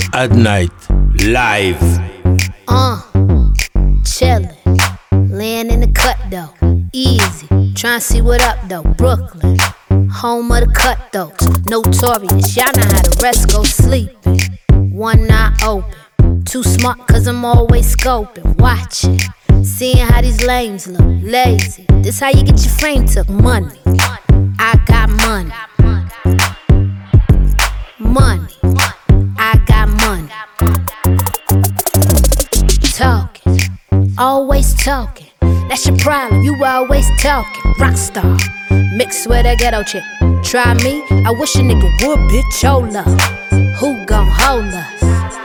at Night, live. Chillin', laying in the cut though, easy. Tryna see what up though, Brooklyn, home of the cutthroats, notorious. Y'all know how the rest go sleeping. One eye open, too smart cause I'm always scoping, watching, seeing how these lames look, lazy. This how you get your frame took, money. I got money. Money, I got money. Talking, always talking. That's your problem, you always talking. Rockstar, mixed with a ghetto chick. Try me, I wish a nigga would, bitch, your love. Who gon' hold us?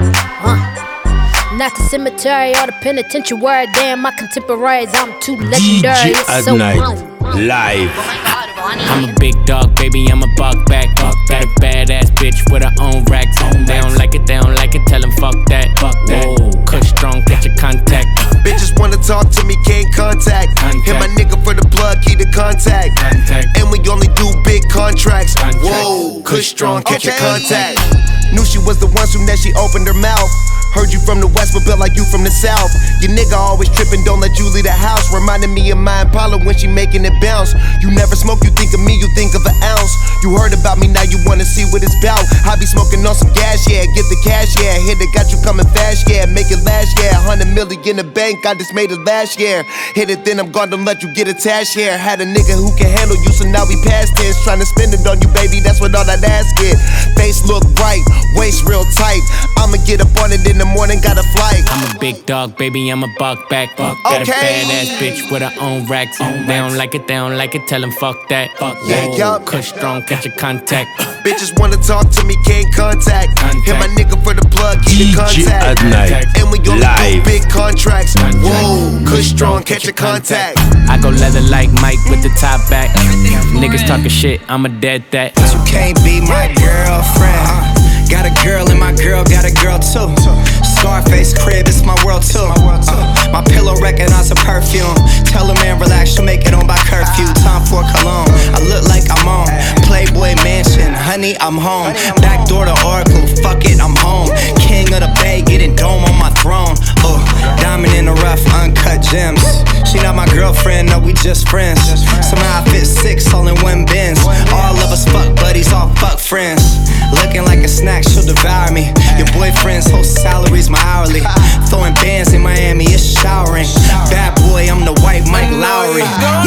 Not the cemetery or the penitentiary. Damn, my contemporaries, I'm too legendary. DJ at so Night, live. I'm a big dog, baby, I'm a buck back. Got a badass bitch with her own racks. They don't like it, tell them fuck that. Whoa, Kush strong, catch your contact. Bitches wanna talk to me, can't contact. Hit my nigga for the plug, keep the contact. And we only do big contracts. Whoa, Kush strong, catch your contact. Knew she was the one soon that she opened her mouth. Heard you from the west, but built like you from the south. Your nigga always trippin', don't let you leave the house. Reminding me of my Impala when she making it bounce. You never smoke, you think of me, you think of an ounce. You heard about me, now you wanna see what it's bout. I be smoking on some gas, yeah, get the cash, yeah. Hit it, got you coming fast, yeah, make it last, yeah. 100 million in the bank, I just made it last year. Hit it, then I'm gone, don't let you get attached here. Had a nigga who can handle you, so now we past tense. Tryna spend it on you, baby, that's what all that ass get. Face look right, waist real tight. I'ma get up on it in the morning, got a flight. I'm a big dog, baby, I'm a buck back. Got a badass bitch with her own racks. They don't like it, tell them fuck that. Yeah, Kush strong, catch your contact. Bitches wanna talk to me, can't contact. Hit my nigga for the plug, keep the DJ contact. at Night, And we only live. do big contracts. Whoa, Kush strong, catch your contact. I go leather like Mike with the top back. Niggas talking shit, I'm a dead that. You can't be my girlfriend. Got a girl and my girl got a girl too. Scarface crib, it's my world too. My pillow recognize a perfume. Tell a man relax, she'll make it on by curfew. Time for cologne, I look like I'm on Playboy Mansion, honey, I'm home. Back door to Oracle, fuck it, I'm home. King of the Bay, getting dome on my throne. Diamond in the rough, uncut gems. She not my girlfriend, no, we just friends. Somehow I fit 6 all in one Benz. All of us fuck buddies, all fuck friends. Looking like a snack, she'll devour me. Your boyfriend's whole salary's my hourly. Throwing bands in Miami, it's showering. Bad boy, I'm the white Mike Lowry.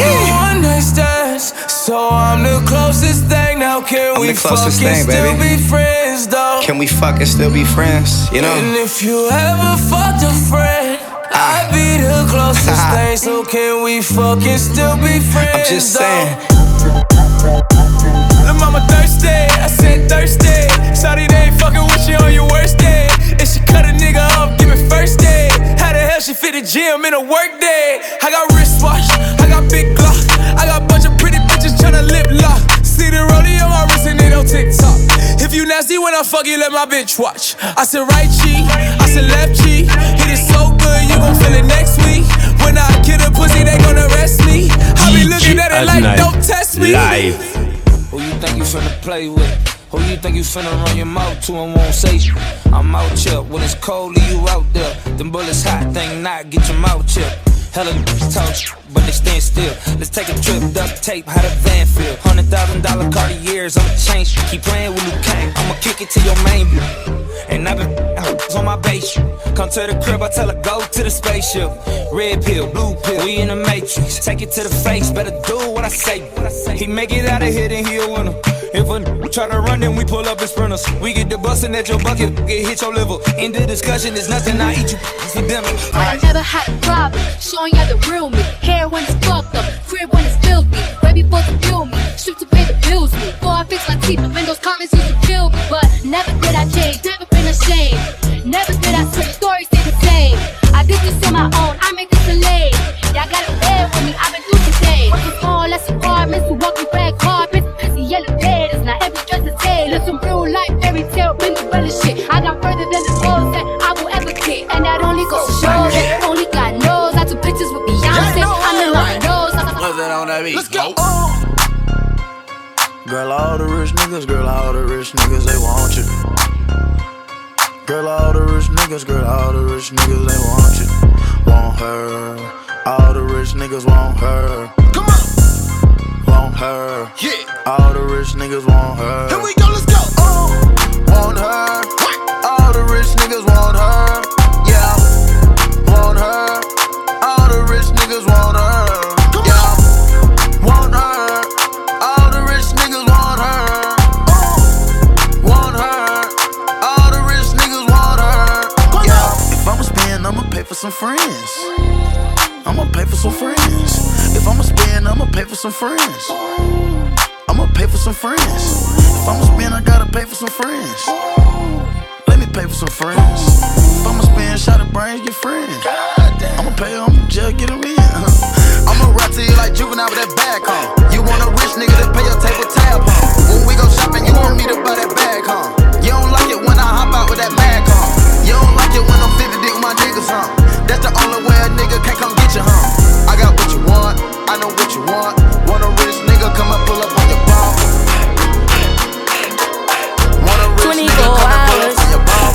One night stands, so I'm the closest thing. Now can we fuck and still be friends though? Can we fuck and still be friends, you know? And if you ever fucked a friend, I'd be the closest thing. So can we fuck and still be friends? I'm just saying. Lil' mama thirsty, I said thirsty. Shawty, they ain't fucking with you on your worst day. If she cut a nigga off, give me first day. How the hell she fit the gym in a work day? I got wristwatch, I got big Glock. I got a bunch of pretty bitches tryna lip lock. See the rollie on my wrist and it on TikTok. If you nasty when I fuck you, let my bitch watch. I said right cheek, I said left cheek. Hit it so good, you gon' feel it next week. When I kill a pussy, they gon' arrest me. I be looking at it like, don't test me. Live. Who you think you finna play with? Who you think you finna run your mouth to and won't say shit? I'm out here when it's cold, leave you out there. Them bullets hot, think not, get your mouth chipped. Hella talk shit, but they stand still. Let's take a trip, duct tape, how the van feel. $100,000 Cartiers, I'ma change. Keep playing with Luke Kane, I'ma kick it to your main view. And I've been on my base. Come to the crib, I tell her go to the spaceship. Red pill, blue pill, we in the matrix. Take it to the face, better do what I say. He make it out of here, then he a winner. If a try to run, then we pull up in sprinters. We get the bustin' at your bucket, get hit your liver. End the discussion, it's nothing, I eat you for dinner. I never had a problem, showing you the real me. Hair when it's fucked up, crib when it's filthy. Right before to kill me, strip to pay the bills me. Before I fix my teeth, and those comments used to kill me. But never did I change, never been ashamed. Never did I switch, stories stay the same. I did this on my own, I make this a lane. Y'all gotta bear with me, I've been through today. Working small, less apartments, we walking back carpets. Pissy yellow bed, it's not every dress the same. Listen, real life, fairy tale, been the real shit. I got further than the goals that I will ever get. And that only goes to show that only God knows. I took pictures with Beyonce, I'm in my nose. What's that on that beat? Let's go. Girl, all the rich niggas, they want you. Girl, all the rich niggas, they want you, want her. All the rich niggas want her. Come on. Want her. Yeah. All the rich niggas want her. Here we go, let's go. Want her. All the rich niggas want her. Yeah. Want her. All the rich niggas want her. Yeah. Want her. All the rich niggas want her. Want her. All the rich niggas want her. Yeah. If I'ma spend, I'ma pay for some friends. I'ma pay for some friends. If I'ma spend, I'ma pay for some friends. I'ma pay for some friends. If I'ma spend, I gotta pay for some friends. Let me pay for some friends. If I'ma spend, shot of brains, get friends. I'ma pay them, just get them in. I'ma rap to you like Juvenile with that bag, huh? You want a rich nigga to pay your table tab, huh? When we go shopping, you want me to buy that bag, huh? You don't like it when I hop out with that mag, huh? You don't like it when I'm 50 dick with my niggas, huh? That's the only way a nigga can't come get you, huh? I got what you want, I know what you want. Want a rich nigga, come and pull up on your bump. Want a rich nigga, come and pull up on your bump.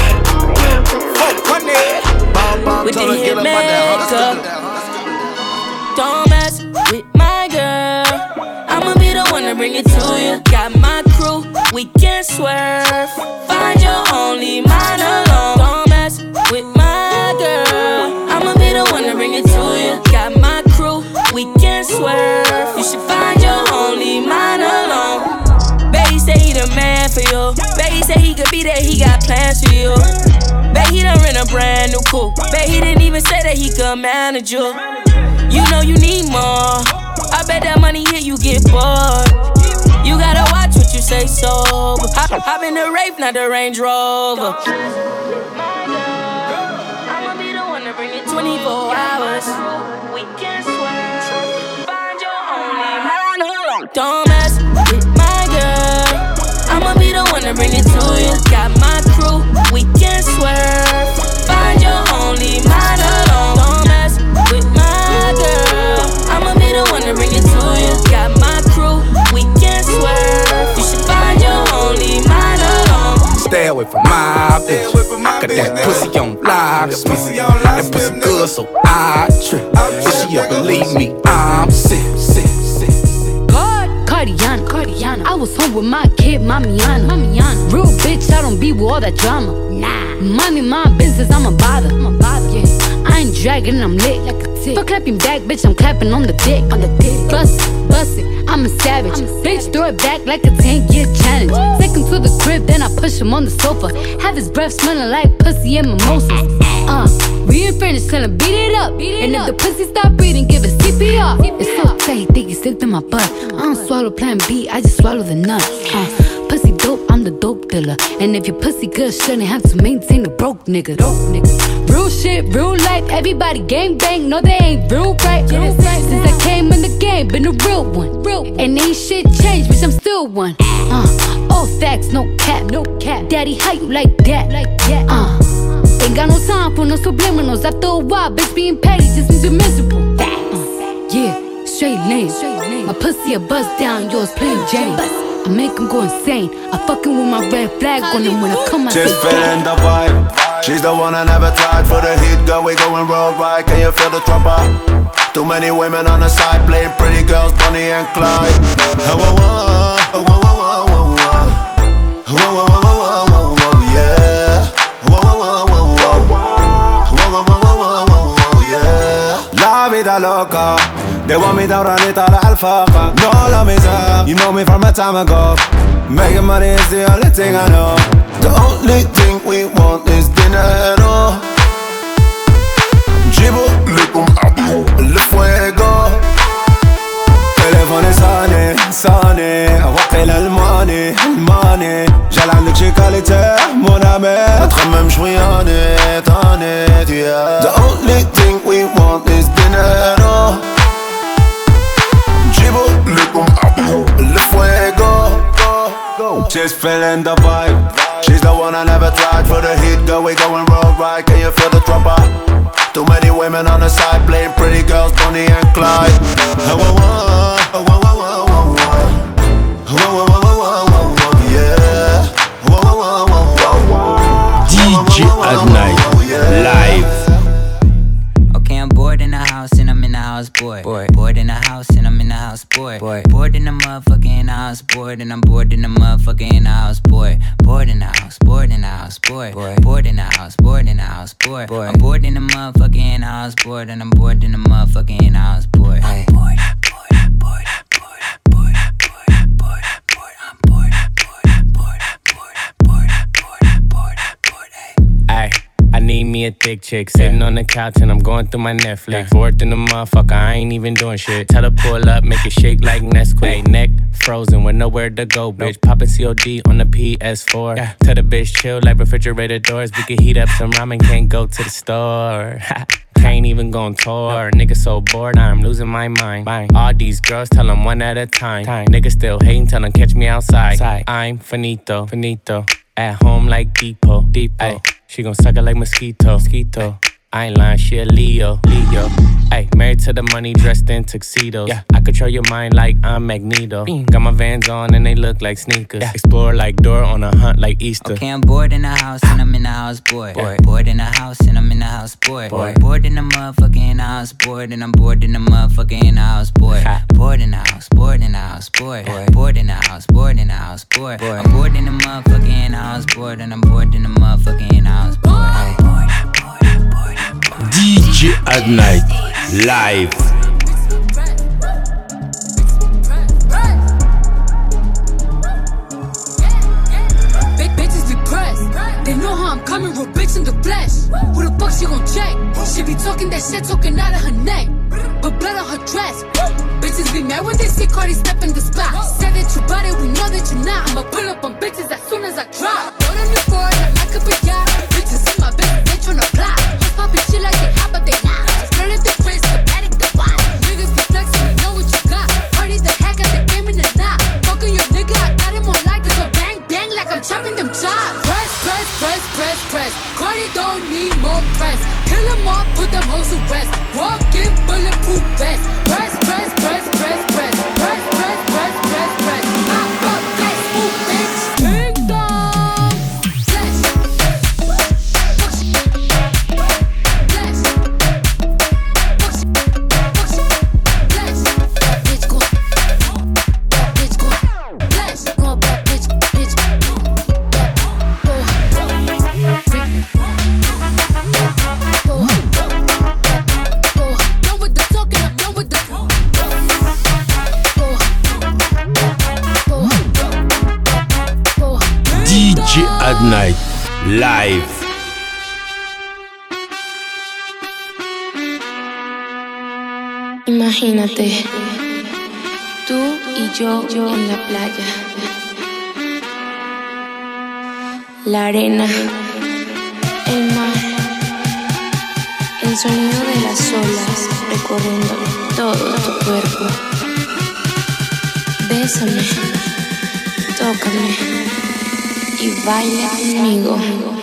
With the hitmaker, don't mess with my girl. I'ma be the one to bring it to you. Got my crew, we can swerve. Find your only mind alone. Don't mess with my girl. I'ma be the one to bring it to you. Got my crew, we can swerve. You should find your only mind alone. Baby say he the man for you. Baby say he could be there, he got plans for you. Bet he done rent a brand new coupe. Bet he didn't even say that he could manage you. You know you need more. I bet that money hit you get bored. You gotta watch what you say sober. Hop in the Wraith, not the Range Rover. I'ma be the one to bring it 24 hours. We can swear. Find your only man. Don't mess with my girl. I'ma be the one to bring it to you. Got my crew, we can swerve. Find your only man alone. Don't mess with my girl. I'ma be the one to bring it to you. Got my crew, we can swerve. You should find your only man alone. Stay away from my bitch. I got that pussy on lock. That pussy good, so I trip. If she ever leave me, I'm sick. Cardiana. I was home with my kid, Mamiana. Real bitch, I don't be with all that drama. Nah. Money, my business, I'm a bother. Yeah. I ain't dragging, I'm lit like a tick. For clapping back, bitch, I'm clapping on the dick. Bust it, I'm a savage. Bitch, throw it back like a 10-year challenge. Take him to the crib, then I push him on the sofa. Have his breath smelling like pussy and mimosas. We ain't finished, tell him beat it up. And if the pussy stop breathing, give it CPR. It's so tight, think it's slipped in my butt. I don't swallow plan B, I just swallow the nut. Pussy dope, I'm the dope dealer. And if your pussy good, shouldn't have to maintain a broke nigga. Real shit, real life, everybody gang bang. No, they ain't real right. Since I came in the game, been a real one. And ain't shit changed, bitch, I'm still one. All facts, no cap. Daddy, how you like that? Ain't got no time for no subliminals. After a while, bitch, being petty just means you're miserable. Yeah, straight lane. My pussy a buzz down, yours plain Jane. I make him go insane. I fucking with my red flag on him when I come out. Just feeling the vibe. She's the one I never tried. For the heat, girl, we going worldwide. Can you feel the trumper? Too many women on the side, playing pretty girls, Bonnie and Clyde. La vida loca, they want me down, run it all alfaqa. No love is up, you know me from a time ago. Making money is the only thing I know. The only thing we want is dinero. Jibo, le fuego. Telephone sonné, rappelle le money. J'ai la musicalité, mon ami. Notre même j'suis honnête, yeah. The only thing we want is dinero. Jibo, le fuego. Just feeling the vibe. She's the one I never tried. For the heat, girl, we going worldwide. Can you feel the trumper? Too many women on the side, playing pretty girls, Bonnie and Clyde. motherfucking house, bored and I'm bored in the motherfucking house, bored. Bored in the house, bored in the house, bored. Bored in the house, bored in the house, bored. I'm bored in the motherfucking house, bored and I'm bored in the motherfucking house, bored. I'm bored, I'm bored, I'm bored, I'm bored, I'm bored, I'm bored, I'm bored, I'm bored, I'm bored, I'm bored, I'm bored, I'm bored, I'm bored, I'm bored, I'm bored, I'm bored. Ay, I need me a thick chick sitting on the couch and I'm going through my Netflix. Bored in the motherfucker, I ain't even doing shit. Tell her pull up, make it shake like Nesquik. Neck frozen with nowhere to go, bitch. Poppin' COD on the PS4. Tell the bitch chill like refrigerator doors. We can heat up some ramen, can't go to the store. Can't even go on tour. Nigga so bored, I'm losing my mind. All these girls tell them one at a time. Nigga still hating, tell them catch me outside. I'm finito. At home like Depot. Ay, she gon' suck it like mosquito. I ain't lying, she a Leo. Ay, married to the money, dressed in tuxedos. I control your mind like I'm Magneto. Got my Vans on and they look like sneakers. Explore like Dora on a hunt like Easter. Okay, I'm bored in the house and I'm in the house, bored. Bored in the house and I'm in the house, bored. Bored in the motherfucking house, bored and I'm bored in the motherfucking house, bored. Bored in the house, bored in the house, bored. Bored in the house, bored in the house, bored. I'm bored in the motherfucking house, bored and I'm bored in the motherfucking house, bored. DJ at night, live. Big bitches be pressed. They know how I'm coming, real bitch in the flesh. Who the fuck she gon' check? She be talking that shit, talking out of her neck. But blood on her dress. Bitches be mad when they see Cardi step in the spot. Said that you bought it, we know that you not. I'ma pull up on bitches as soon as I drop. Load on the floor, I could be yacht. Bitches in my bed, they tryna plot. Poppin' shit like they hot, but they not. Girl at the wrist, the paddock, the watch. Niggas be flexin', we know what you got. Party the hack at the game in the knot. Fuckin' your nigga, I got him on like this. So bang, bang, like I'm chopping them chops. Press. Cardi don't need more press. Kill them all, put them hoes to rest. Walk in, bulletproof vest. Press. Pop up, let's move, bitch. Ding dong. DJ at night, live. Imagínate, tú y yo en la playa, la arena, el mar, el sonido de las olas recorriendo todo tu cuerpo. Bésame, tócame y baila conmigo.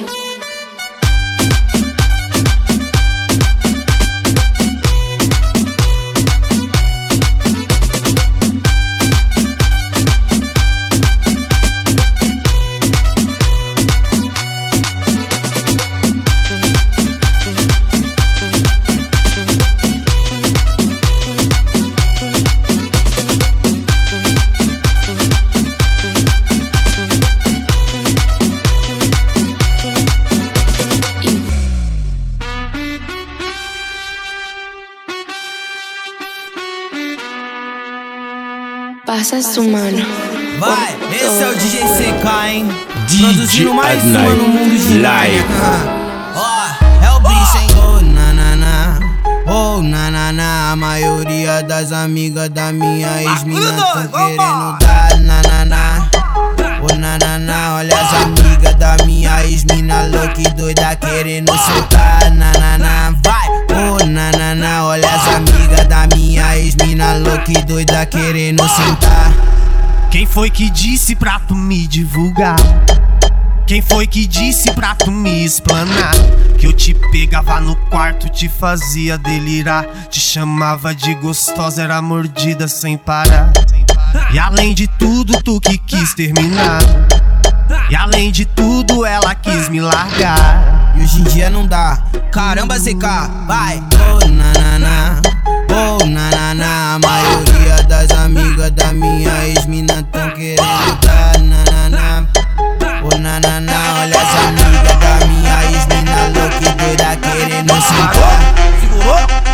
Pasas tu mano. Vai, esse é o DJ CK, hein? DJ Produzindo mais at uma night, no mundo de live. Ó, é o bicho, hein? Oh, nanana. Oh, nanana. A maioria das amigas da minha ex-mina tão querendo dar nanana. Oh, nanana. Olha as amigas da minha ex-mina louca e doida querendo soltar nanana. Vai, oh, nanana. Olha as amigas da minha ex-mina louca e doida querendo sentar. Quem foi que disse pra tu me divulgar? Quem foi que disse pra tu me explanar? Que eu te pegava no quarto, te fazia delirar, te chamava de gostosa, era mordida sem parar. E além de tudo, tu que quis terminar. E além de tudo, ela quis me largar. E hoje em dia não dá. Caramba, CK, vai. Oh, nanana. Oh, nanana. A maioria das amigas amigas da minha ex-mina tão querendo dar nanana. Oh nanana, olha as amigas da minha ex-mina louca e doida querendo sentar. Segurou?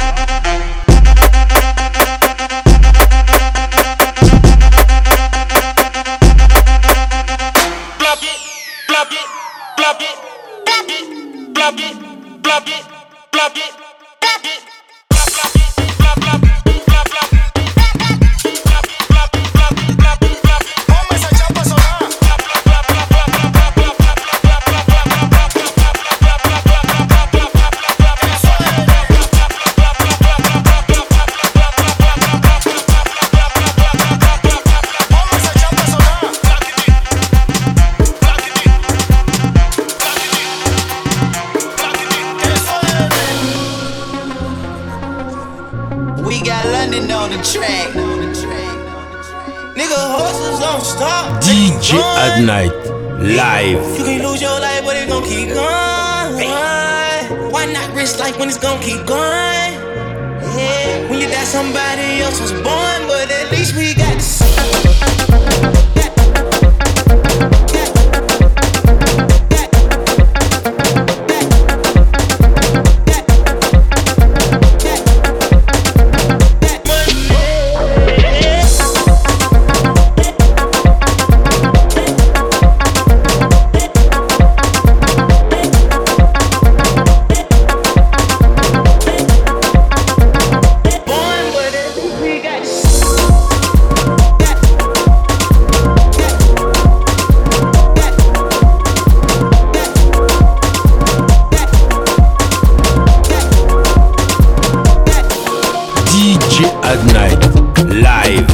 DJ Adnight live. You can lose your life, but it gon' keep going. Why not risk life when it's gon' keep going? Yeah, when you die, somebody else was born, but at least we got to see. Adnight live.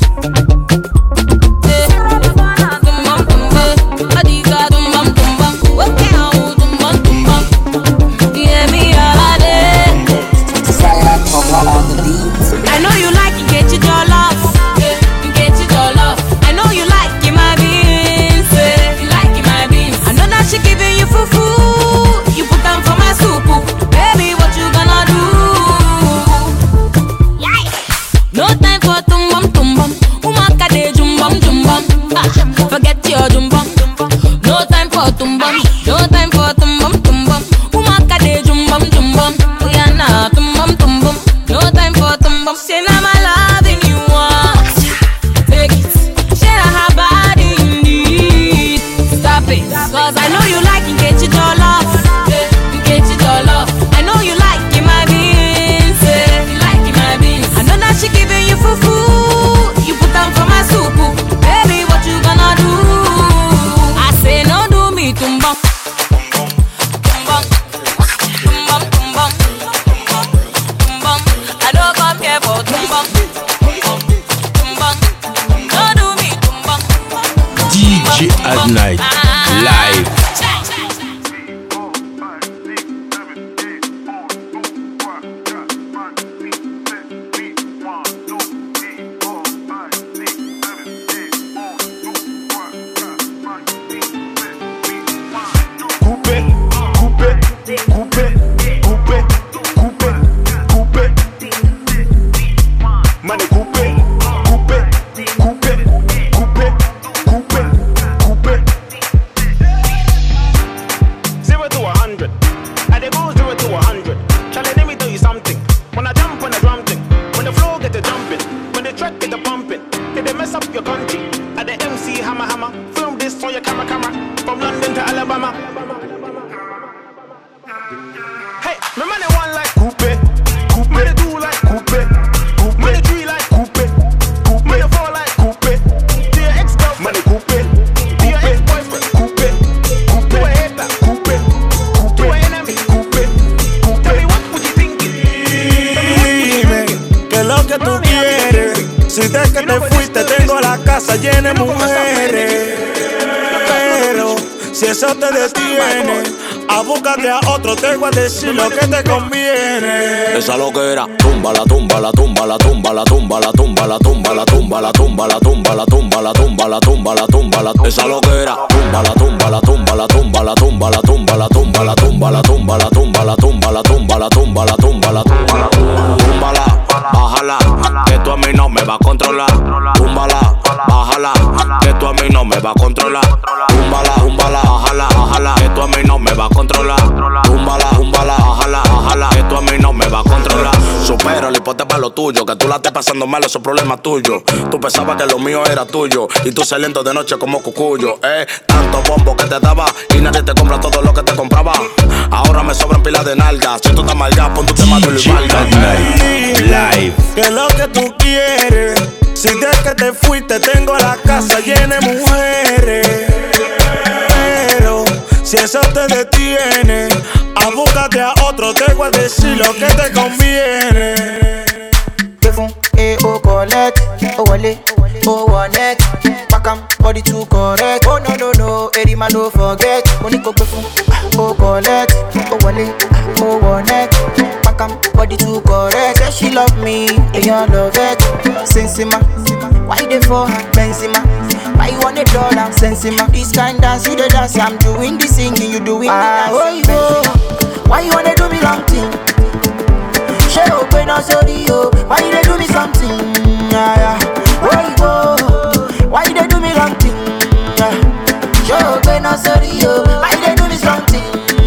I know you like it, get your jollof. Get your jollof. I know you like it, my beans. You like it, my beans. I know that she giving you fufu. You put them for my soup. Baby, what you gonna do? No time for tumbum tumbum. Umaka de jumbum jumbum. Forget your jumbum. No time for tumbum. No time for tumbum tumbum. Umaka de jumbum jumbum. Uyana tumbum tumbum. No time for tumbum. Say now my loving you want. Take it. Share her body indeed. Stop it. Cause I know you like it. Get your jollof. Get your jollof. I know you like it, my beans. You like it, my beans. I know that she giving you fufu. You put them for my soup. Baby, what you gonna do? I say no, do me tumbum. Tumbum. Tumbum, tumbum. Tumbum. I don't come here for tumbum. Tumbum. No, do me tumbum. DJ Adnight live. Llena de mujeres, pero si eso te detiene, a búscate a otro, te voy a decir lo que te conviene. Esa loquera, tumba la tumba la tumba la tumba la tumba la tumba la tumba la tumba la tumba la tumba la tumba la tumba la tumba la tumba la esa loquera, tumba la tumba la tumba la tumba la tumba la tumba la tumba la tumba la tumba la tumba la tumba la tumba la tumba la tumba la tumba la tumba la bájala, que tú a mí no me vas a controlar. Túmbala, bájala, que tú a mí no me vas a controlar. Túmbala, bájala, que tú a mí no me vas a controlar. Túmbala, bájala, que tú a mí no me vas a controlar. Supéralo y ponte para lo tuyo, que tú la estés pasando mal, eso es problema tuyo. Tú pensabas que lo mío era tuyo y tú saliendo de noche como cucuyo. Tanto bombo que te daba y nadie te compra todo lo que te compraba. Ahora me sobran pilas de nalgas. Si tú estás mal ya, pon tu tema de Live. ¿Qué es lo que tú quieres? Si desde que te fuiste tengo la casa llena de mujeres. Pero si eso te detiene, búscate a otro, te voy a decir lo que te conviene. Oh collect, oh wale, oh one neck. Back am body too correct. Oh no, every man don't forget. Money go before. Oh collect, oh wale, oh one neck. Back am body too correct. Say she love me, and you love it. Sensima, why they for her? Benzema, why you want $1? Sensima, this kind dance you the dance. I'm doing the singing, you doing the dance. Oh, why you wanna do me long thing? She open up sorry yo. Why they do me something? Why they do me wrong thing? She open up sorry yo. Why they do me something?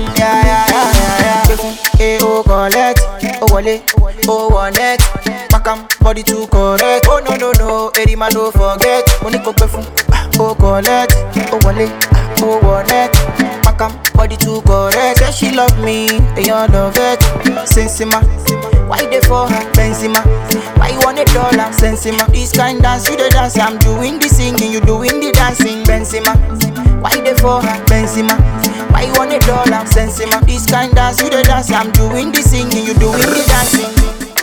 Oh collect, oh wale, oh one neck. Back am body too correct. Oh no, every man don't forget. Money go perfume. Oh collect, oh wale, oh one neck. Back am body too correct. Say she love me, and you love it. Sensima, why they for her? Benzema, why you want $1? Sensima, this kind dance you the dance. I'm doing the singing, you doing the dancing. Benzema, why they for her? Benzema, why you want $1? Sensima, this kind dance you the dance. I'm doing the singing, you doing the dancing.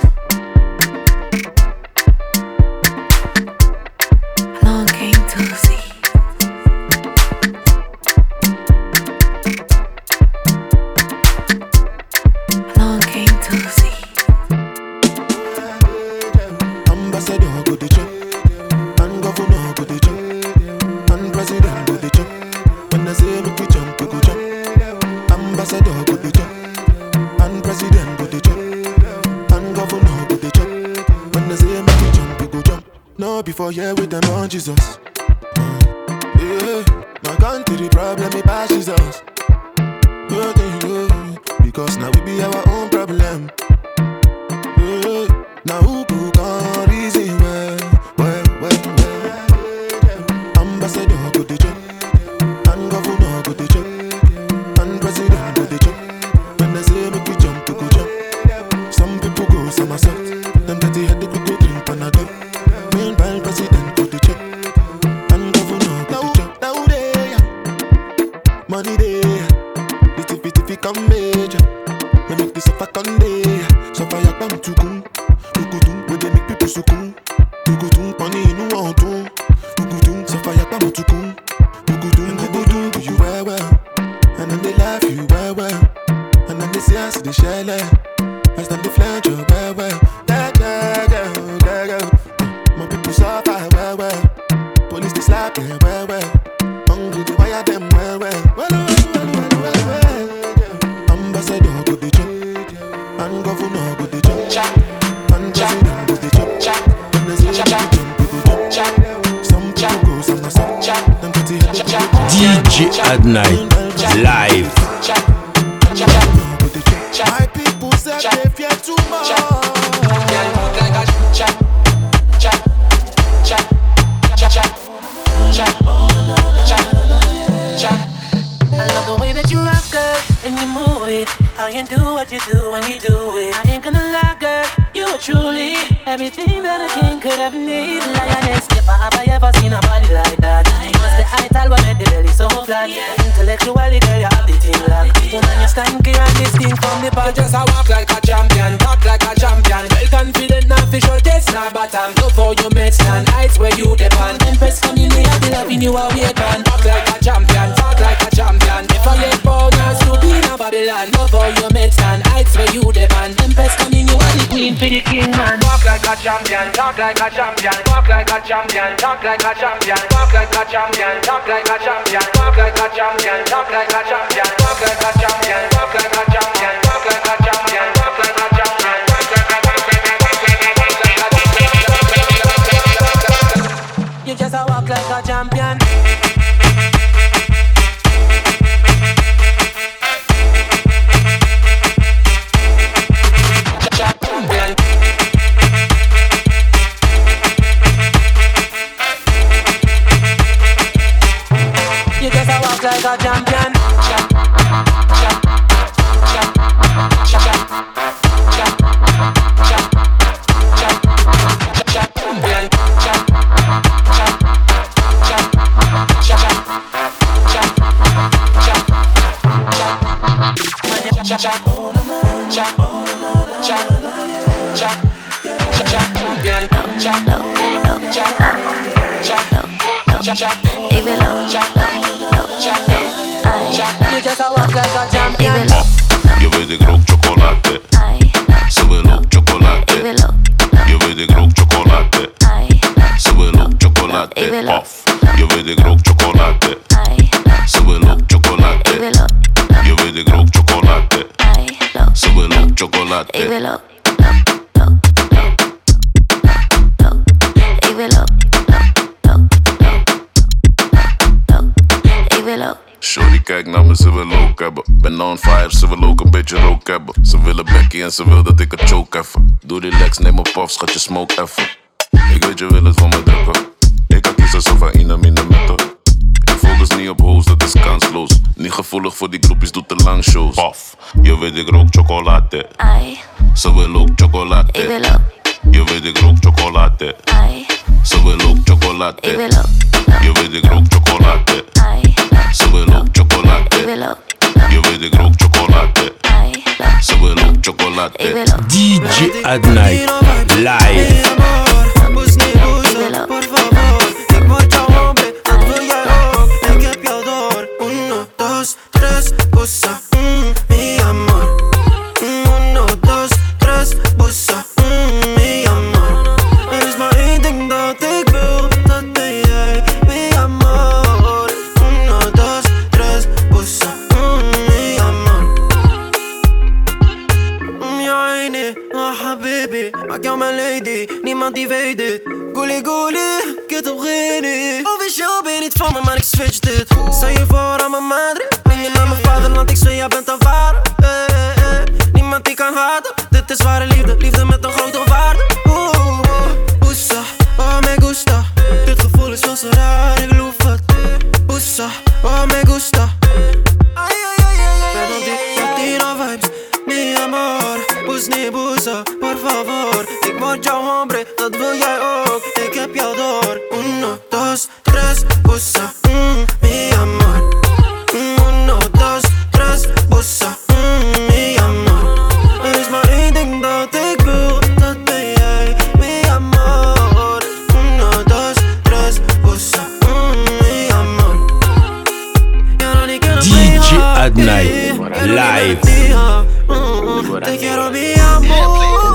Long came to see. Long came to see. Ambassador go the jump, and governor go the jump, and president go the jump. When I say make you jump, you go jump. Ambassador go the jump, and president go the jump, and governor go the jump. When I say make you jump, you go jump. No before here with them on Jesus. Yeah, my country problem it passes us. Because now we be our own problem. Now who can reason well. Ambassador go the jump, and governor go the jump, and president go the jump. When I say make you jump, you go jump. Some people go somersault, them dirty headache we go drink Panadol. Meanwhile president go the jump, and governor go the jump. Now they money there, the come major. Me make this up a Sunday, so fire come to come. Where they make people so cool. Money in no one too. So fire come to come. Do you well, and then they laugh you well, and then they say I see the shell. As them they flange you well. My people suffer well. Police they slap them well. Hungry they wire them well. Ambassador go the jump, and governor go the jump, and president go the jump. When they say jump, you go jump. Some people go somersault, them pretty DJ Adnight live. My people say they fear too much. I love the way that you rock, girl, and you move it. How you do what you do when you do it. I ain't gonna lie, girl, you are truly everything that a king could have needed. Lioness, never have I ever seen a body like that. You must the idol what made the belly so flat. Intellectually, girl, you have the thing locked. Woman, you stand clear and distinct from the back. You just a walk like a champion, talk like a champion. Well confident, not fish or taste, not bottom. Love how you make stand, heights where you depend. Empress come in, I be loving you all week on. Talk like a champion, talk like a champion. If I get bonus to be in a Babylon, love how you make stand, heights where you depend. Empress come in, you are the queen for the king, man. Walk like a champion, talk like a champion. Walk like a champion, talk like a champion. Walk like a champion, talk like a champion. Walk like a champion, talk like a champion. Walk like a champion, walk like a champion. Walk like a champion, walk like a champion. You just a walk like a champion. You just a walk like a champion. Je weet ik rook chocolade. Ze wil ook chocolade. Je weet ik rook chocolade. Ze wil ook chocolade. Of je weet ik rook chocolade. Ze wil ook chocolade. Je weet ik rook chocolade. Ze wil ook chocolade. Shorty kijkt naar me, ze wil ook hebben. Ben on fire, ze wil ook een beetje rook hebben. Ze willen bekkie en ze wil dat ik het choke even. Doe relax, neem een puff, schat je smoke even. Ik weet je wil het van me drukken. Ik kan kiezen zo van in de metto. Ik focus niet op hoes, dat is kansloos. Niet gevoelig voor die groepjes, doet te lang shows. Puff, je weet ik rook chocolade. Ze wil ook chocolade. Je weet ik rook chocolade. Ze wil ook chocolade. Je weet ik rook chocolade. Ze wil ook chocolade. Je weet ik rook chocolade. Ze wil ook chocolade. DJ Adnight live. Por favor, ik word jouw hombre, dat wil jij ook. Ik heb jou door. 1, 2, 3, bossa, mi amor. 1, 2, 3, bossa, mi amor. Er is maar één ding dat ik wil, dat ben jij, mi amor. 1, 2, 3, bossa, mi amor. Ja, nee, habibi, maak jou mijn lady, niemand die weet dit. Goelie goelie, ik heb op geen idee. Officieel ben je niet van me, maar ik switch dit. Stel je voor aan mijn madre, ben je naar mijn vaderland, ik zweer, jij bent een vader. Niemand die kan haten, dit is ware liefde, liefde met een grote waarde. Pussa, oh me gusta, dit gevoel is veel zo raar, ik loof het. Pussa, oh me gusta. Ben op die Latino vibes, mi amor. Bus ni busa, por favor. Ik word jouw hombre, dat wil jij ook. Ik heb jou door. 1, 2, 3, busa, mi amor. 1, 2, 3, busa, mi amor. Er is maar één ding dat ik wil, dat ben jij, mi amor. 1, 2, 3, busa, mi amor. DJ Adnight live. Te quiero mi amor.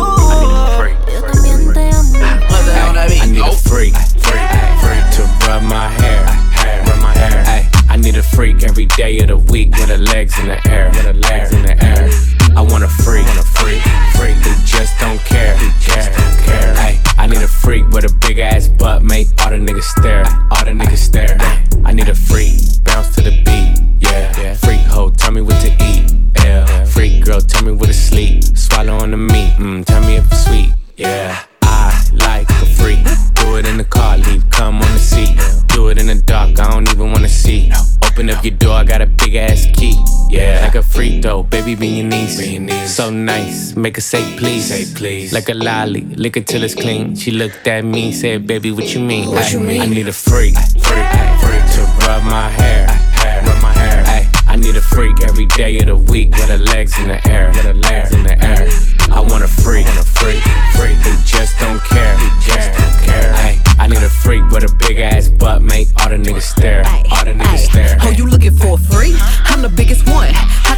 I need a freak, freak to rub my hair, Ay, I need a freak every day of the week with her legs in the air, I want a freak, who just don't care, Ay, I need a freak with a big ass butt, make all the niggas stare, Ay, I need a freak, bounce to the beat, yeah. Freak hoe, tell me what to eat, yeah. Freak girl, tell me where to sleep, swallow on the meat, tell me if it's sweet, yeah. I like a freak. Do it in the car, leave, come on the seat. Do it in the dark, I don't even wanna see. Open up your door, I got a big ass key. Yeah, like a freak though, baby, be your niece. So nice, make her say please. Like a lolly, lick it till it's clean. She looked at me, said, baby, what you mean? I need a freak to rub my hair. Ay, I need a freak every day of the week with her legs in the air, I want a freak, who just don't care, Ay, I need a freak with a big ass butt, make all the niggas stare, Oh, you looking for a freak? I'm the biggest one. I can do what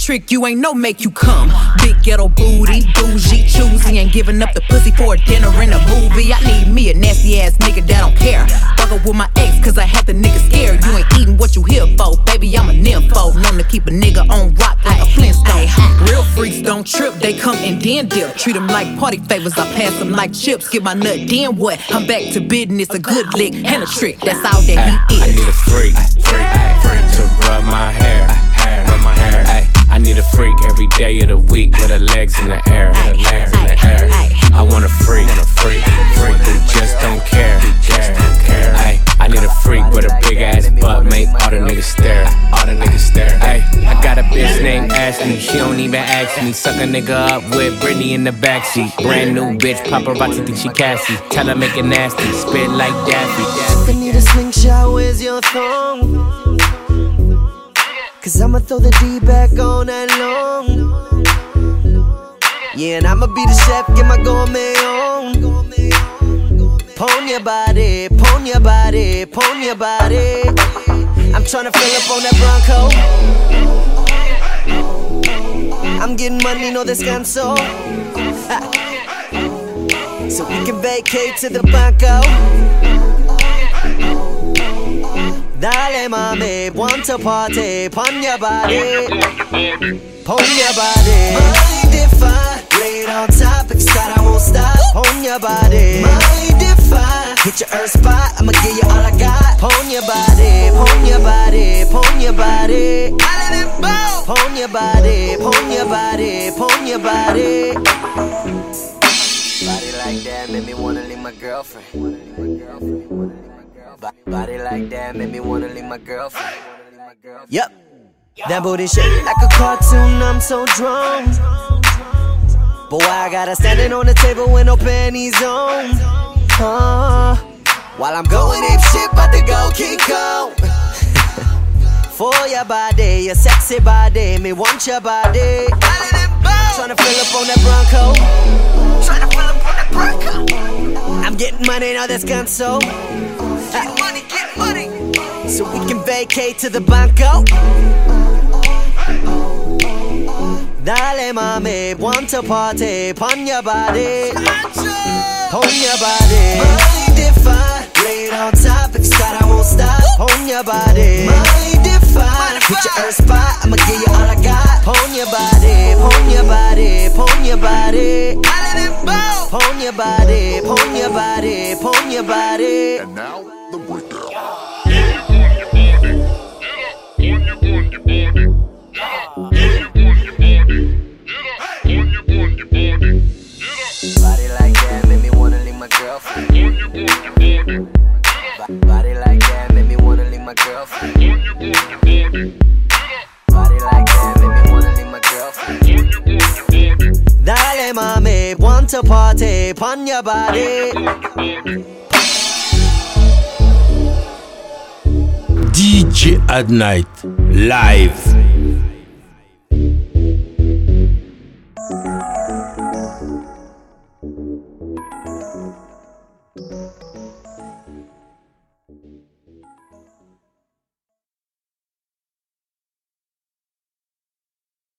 trick, you ain't no make you come. Big ghetto booty, bougie, choosy, ain't giving up the pussy for a dinner and a movie. I need me a nasty ass nigga that don't care. Fuck up with my ex, cause I had the nigga scared. You ain't eating what you here for, baby, I'm a nympho. Known to keep a nigga on rock like a Flintstone. Real freaks don't trip, they come and then dip. Treat them like party favors, I pass them like chips. Get my nut, then what? I'm back to business, a good lick and a trick, that's all that he is. I need a freak to rub my hair. I need a freak every day of the week with her legs in the air. I want a freak who just don't care. I need a freak with a big ass butt, make all the niggas stare. I got a bitch named Ashley, she don't even ask me. Suck a nigga up with Britney in the backseat. Brand new bitch, paparazzi think she Cassie. Tell her make it nasty, spit like Daffy. I need a slingshot, where's your thong? Cause I'ma throw the D back on that long. Yeah, and I'ma be the chef, get my gourmet on. Pon your body, pon your body, pon your body. I'm tryna fill up on that Bronco. I'm getting money, no descanso. So we can vacate to the Banco. Dale mami, want to party, pon your body. Pon your body. Mind if I lay it on top, excited, I won't stop. Pon your body. Mind if I hit your earth spot, I'ma give you all I got. Pon your body, pon your body, pon your body. Pon your body, pon your body, pon your body. Body like that made me wanna leave my girlfriend. Body like that made me wanna leave my girlfriend. Yep, that booty shake like a cartoon, I'm so drunk. But why I gotta standing on the table with no panties on? While I'm going ape shit, about to go King Kong. For your body, your sexy body, me want your body. Tryna fill up on that Bronco. Tryna fill up on that Bronco. I'm getting money, now that's console. Get money, get money. So we can vacate to the Banco. Dale mami, want to party, pon your body. Pon your body. Mind if I lay it on top, excited, I won't stop. Pon your body. Mind if I hit your earth spot, I'ma give you all I got. Pon your body, pon your body, pon your body. Pon your body, pon your body, pon your body. And now the breakdown. Body like that made me wanna leave my girlfriend. Body like that made me wanna leave my girlfriend. Body like that made me wanna leave my girlfriend. Dale mami, want to party, pon your body. DJ at Night live.